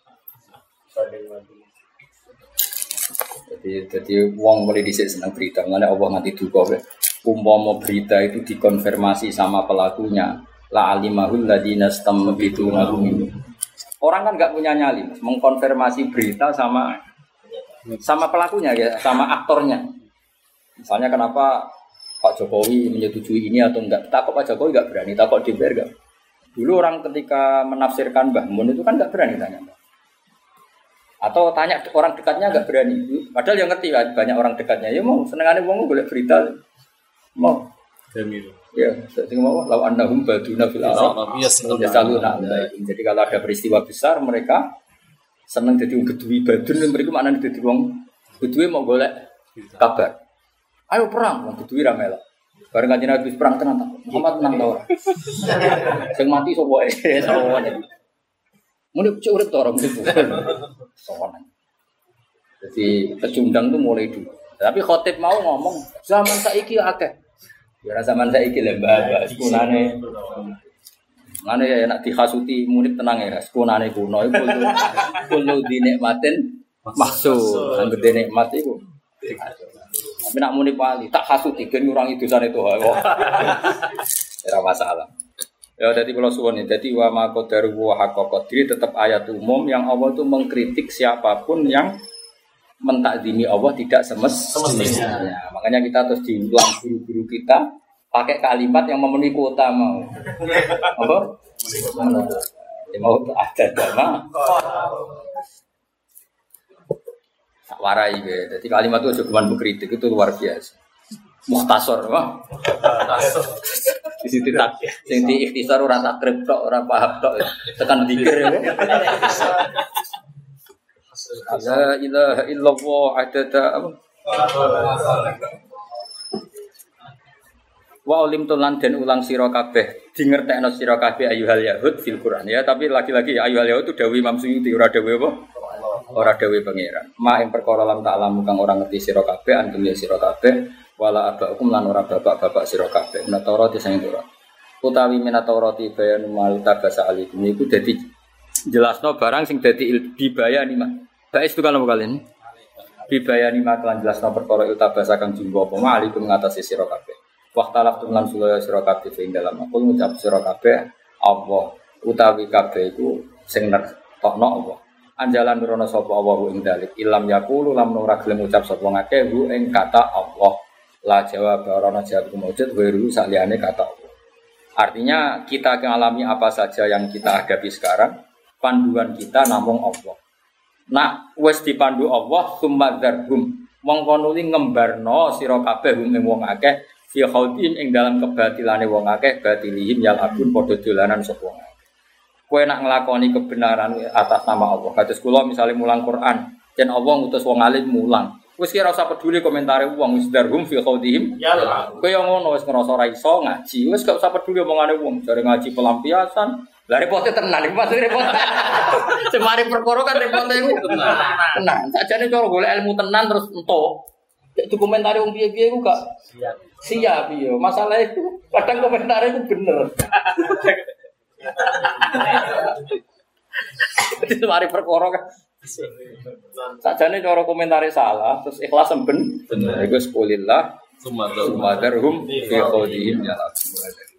Jadi jadi wong mulai dhisik seneng berita. Ngene Allah nganti duka wae. Umpama berita itu dikonfirmasi sama pelakunya, la alimahul ladina stamabituna minhu. Orang kan enggak punya nyali, Mas, mengkonfirmasi berita sama sama pelakunya ya, sama aktornya. Misalnya kenapa Pak Jokowi menyetujui ini atau enggak? Takut Pak Jokowi enggak berani, takut D P R enggak. Dulu orang ketika menafsirkan Mbah Mun itu kan enggak berani tanya. Atau tanya orang dekatnya enggak berani. Padahal yang ngerti kan banyak orang dekatnya. Ya mau senengane wong golek berita. Mau. Jamil. Ya, sing mau law annahum baduna fil arab. Yasaluna. Jadi kalau ada peristiwa besar mereka seneng dadi wong gedui badun mereka maknane dadi wong gedui mau golek kabar. Ayo perang wong gedui ra melok. Bareng kanjeng Nabi perang tenan ta. Muhammad menang ta ora? Sing mati sapa wae. Muni cek urip to ora mesti. Sowan. Jadi pecundang itu mulai dulu. Tapi khotib mau ngomong zaman saiki akeh. Ya zaman saiki lho Mbah, sekunane. Mane ya nek dihasuti murid tenang ya, sekunane kuno iku kulo dinikmatin maksud, anggere nikmat iku. Tapi nak muni wali tak hasuti gen ngurangi dosane to. Ora masalah. Ya jadi kalau suwon ini, jadi wa ma qadaru wa haqqa qadri tetap ayat umum yang Allah itu mengkritik siapapun yang mentakzimi Allah tidak semestinya. Ya, makanya kita terus diulang guru-guru kita pakai kalimat yang memenuhi kuota mau. Apa? Mau ada dama. Tak warai be. Jadi kalimat itu cuma mengkritik itu luar biasa. Mukhtasar, wah. Di situ tak, sing di ikhtisar ora takrib tok, ora paham tok. Tekan zikir ya. La ilaha illallah adada apa? Wa ulim tulan den ulang sira kabeh, dingertekno sira kabeh ayyuhal yahud fil Quran ya, tapi lagi-lagi ayyuhal yahud itu dawuh Imam Suyuti ora dawuh apa? Ora dawuh pangeran. Ma ing perkara lam ta'lamu kang ora ngerti sira kabeh antum ya sira kabeh wala abakum lan ora bapak-bapak sira kabeh. Menatara disang ora. Utawi minatarati bayanu mal tabasa alikum iku dadi jelasno barang sing dadi dibayani mah. Baik itu kalau kalian dibayani makalan jelasno perkara iltabasa kang jumbo apa alikum ngatasi sira kabeh. Waqtalaftum lan sulaya sira kabeh ing dalam aku ngucap sira kabeh Allah utawi kabeh iku sing nertokno apa. Anjalan nurono sapa Allah ing dalik ilam yaqulu lam ora gelem ngucap sapa ngakeh hu ing kata Allah. La jawab ora jawab mujud weru saliyane kata Allah. Artinya kita mengalami apa saja yang kita hadapi sekarang panduan kita namung Allah. Nak wis dipandu Allah sumadzarhum mongko nuli ngembarno sira kabeh hum ing wong akeh fi khaudin ing dalam kebatilane wong akeh batilihim yal abun padha dolanan sapa wong akeh. Kowe nak nglakoni kebenaran atas nama Allah. Kados kula misale mulang Quran, yen Allah ngutus wong alim mulang. Wis kira usah peduli komentare wong wis darhum fi khaudihim yal abun. Kowe yo ngono wis ngrasa ora iso ngaji, wis gak usah peduli omongane wong, jare ngaji pelampiasan. Lah repote tenan iki maksud repot. Semari perkara kan repote iku tenan. Tenan. Sakjane cara golek ilmu tenan terus entuk. Cek komentare wong piye-piye iku gak siap. Siap iya. Masalah itu kadang komentare iku bener. Semari perkara kan. Sakjane cara komentare salah terus ikhlas ben bener. Iku sepolillah sumadarhum fi qawlihim ya.